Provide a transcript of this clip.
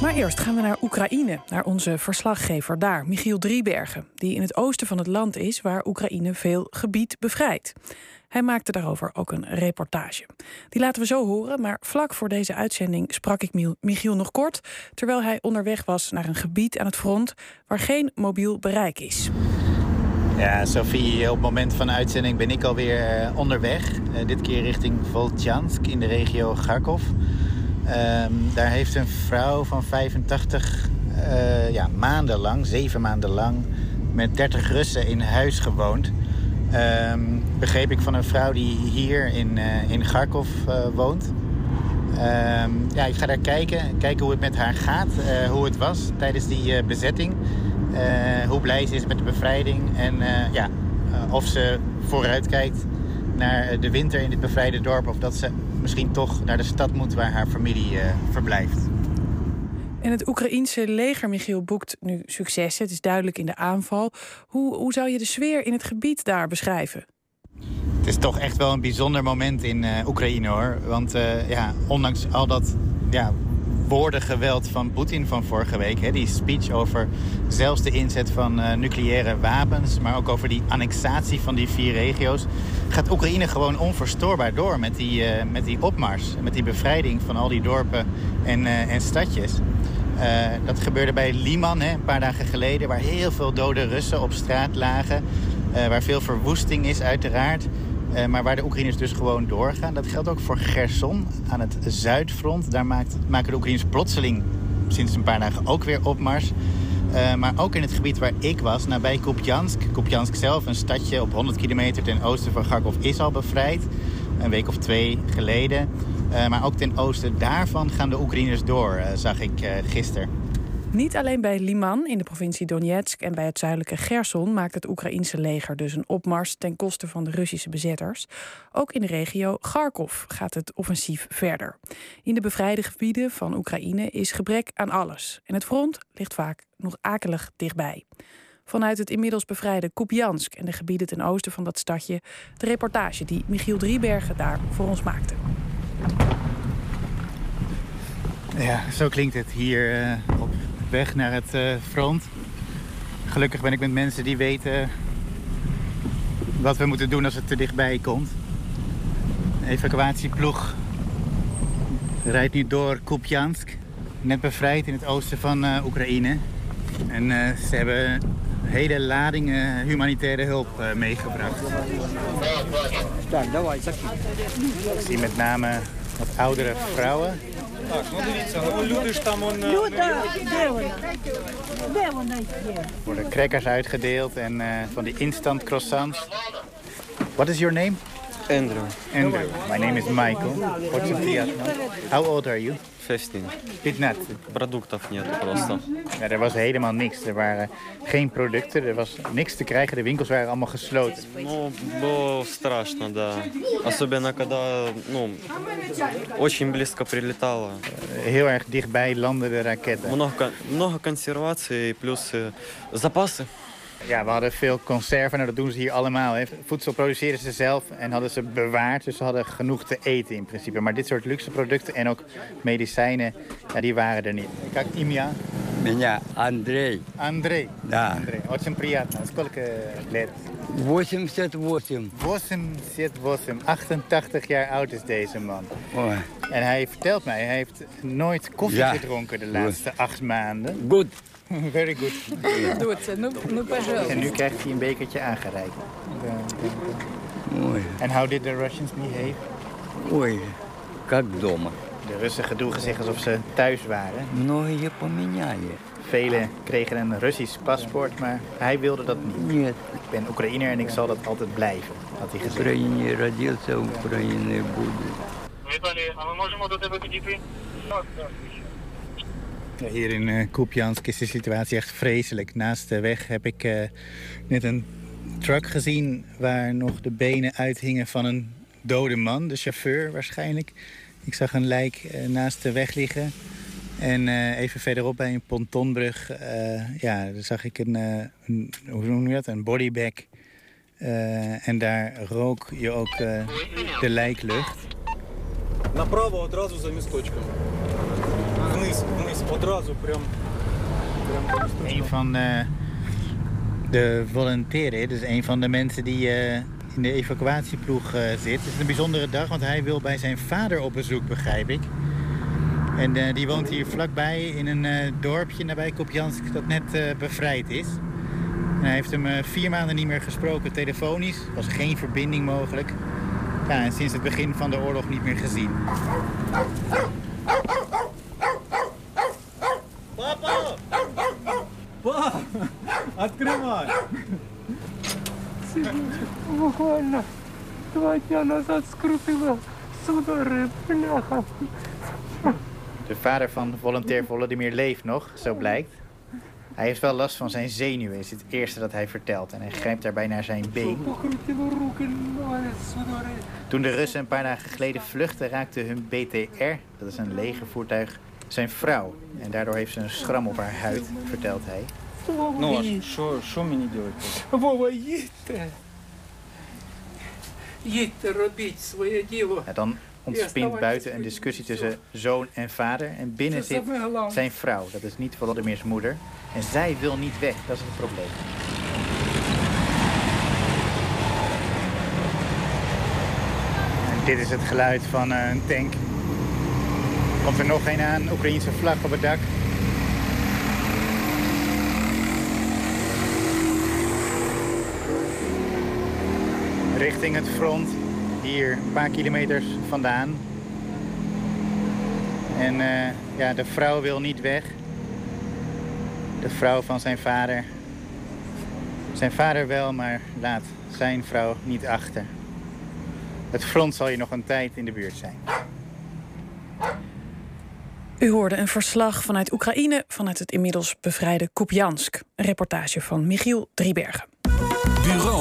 Maar eerst gaan we naar Oekraïne, naar onze verslaggever daar, Michiel Driebergen, die in het oosten van het land is waar Oekraïne veel gebied bevrijdt. Hij maakte daarover ook een reportage. Die laten we zo horen, maar vlak voor deze uitzending sprak ik Michiel nog kort, terwijl hij onderweg was naar een gebied aan het front waar geen mobiel bereik is. Ja, Sophie, op het moment van de uitzending ben ik alweer onderweg. Dit keer richting Voltjansk in de regio Kharkov. Daar heeft een vrouw van 85 maandenlang, 7 maanden lang, met 30 Russen in huis gewoond. Begreep ik van een vrouw die hier in Kharkov woont. Ik ga daar kijken hoe het met haar gaat, hoe het was tijdens die bezetting. Hoe blij ze is met de bevrijding en of ze vooruit kijkt naar de winter in dit bevrijde dorp, of dat ze misschien toch naar de stad moet waar haar familie verblijft. En het Oekraïense leger, Michiel, boekt nu successen. Het is duidelijk in de aanval. Hoe zou je de sfeer in het gebied daar beschrijven? Het is toch echt wel een bijzonder moment in Oekraïne, hoor. Want ondanks al dat woordengeweld van Poetin van vorige week, die speech over zelfs de inzet van nucleaire wapens, maar ook over die annexatie van die 4 regio's, gaat Oekraïne gewoon onverstoorbaar door met die opmars, met die bevrijding van al die dorpen en stadjes. Dat gebeurde bij Liman een paar dagen geleden, waar heel veel dode Russen op straat lagen, waar veel verwoesting is uiteraard. Maar waar de Oekraïners dus gewoon doorgaan. Dat geldt ook voor Cherson aan het zuidfront. Daar maken de Oekraïners plotseling sinds een paar dagen ook weer opmars. Maar ook in het gebied waar ik was, nabij Kupiansk. Kupiansk zelf, een stadje op 100 kilometer ten oosten van Kharkov, is al bevrijd. Een week of 2 geleden. Maar ook ten oosten daarvan gaan de Oekraïners door, zag ik gisteren. Niet alleen bij Liman in de provincie Donetsk en bij het zuidelijke Cherson maakt het Oekraïense leger dus een opmars ten koste van de Russische bezetters. Ook in de regio Kharkov gaat het offensief verder. In de bevrijde gebieden van Oekraïne is gebrek aan alles. En het front ligt vaak nog akelig dichtbij. Vanuit het inmiddels bevrijde Kupiansk en de gebieden ten oosten van dat stadje de reportage die Michiel Driebergen daar voor ons maakte. Ja, zo klinkt het hier op weg naar het front. Gelukkig ben ik met mensen die weten wat we moeten doen als het te dichtbij komt. De evacuatieploeg rijdt nu door Kupiansk, net bevrijd in het oosten van Oekraïne. En ze hebben hele ladingen humanitaire hulp meegebracht. Ik zie met name wat oudere vrouwen. Er worden crackers uitgedeeld en van die instant croissants. What is your name? Andrew. Andrew. My name is Michael. What's your name? How old are you? 15. 15. Продуктов нету просто. Ja, er was helemaal niks. Er waren geen producten, er was niks te krijgen. De winkels waren allemaal gesloten. Ну, было страшно, да. Особенно когда, очень близко прилетало. Heel erg dichtbij landden de raketten. Много консервации плюс запасы. Ja, we hadden veel conserven, dat doen ze hier allemaal. Hè. Voedsel produceerden ze zelf en hadden ze bewaard. Dus ze hadden genoeg te eten in principe. Maar dit soort luxe producten en ook medicijnen, die waren er niet. Как имя? Меня Андрей. Андрей. Да. Андрей. Очень приятно. Сколько лет? 88. 88. 88 jaar oud is deze man. Ой. En hij vertelt mij, hij heeft nooit koffie gedronken de laatste 8 maanden. Good. Very good. Doe het, nu En nu krijgt hij een bekertje aangereikt. Ой. En how did the Russians behave? Ой. Как дома. De Russen gedroegen zich alsof ze thuis waren. Многие поменяли. Velen kregen een Russisch paspoort, maar hij wilde dat niet. Нет. Ik ben Oekraïner en ik zal dat altijd blijven, had hij В gezegd. Украине родился, в Украине буду. Ja, hier in Kupiansk is de situatie echt vreselijk. Naast de weg heb ik net een truck gezien waar nog de benen uithingen van een dode man. De chauffeur waarschijnlijk. Ik zag een lijk naast de weg liggen. En even verderop bij een pontonbrug daar zag ik hoe noem je dat? Een bodybag. En daar rook je ook de lijklucht. Направо одразу за місточком. Вниз, вниз. Een van de volonteren, dus een van de mensen die in de evacuatieploeg zit. Het is een bijzondere dag, want hij wil bij zijn vader op bezoek, begrijp ik. En die woont hier vlakbij in een dorpje nabij Kupiansk dat net bevrijd is. En hij heeft hem 4 maanden niet meer gesproken telefonisch. Er was geen verbinding mogelijk. Ja, en sinds het begin van de oorlog niet meer gezien. Papa! Pa! Открывай! Буквально 2 дня назад скрутила судороги, бляха. De vader van volontair Volodymyr leeft nog, zo blijkt. Hij heeft wel last van zijn zenuwen, is het eerste dat hij vertelt. En hij grijpt daarbij naar zijn been. Toen de Russen een paar dagen geleden vluchtten, raakte hun BTR, dat is een legervoertuig, zijn vrouw. En daardoor heeft ze een schram op haar huid, vertelt hij. Ну, що мені робити? Вова, їдьте. Їдьте, робіть своє діло. Ja, dan ontspint buiten een discussie tussen zoon en vader. En binnen zit zijn vrouw, dat is niet Volodymyrs moeder. En zij wil niet weg, dat is het probleem. En dit is het geluid van een tank. Komt er nog een aan, Oekraïense vlag op het dak. Richting het front, hier een paar kilometers vandaan. En ja, de vrouw wil niet weg. De vrouw van zijn vader. Zijn vader wel, maar laat zijn vrouw niet achter. Het front zal hier nog een tijd in de buurt zijn. U hoorde een verslag vanuit Oekraïne, vanuit het inmiddels bevrijde Kupiansk. Een reportage van Michiel Driebergen.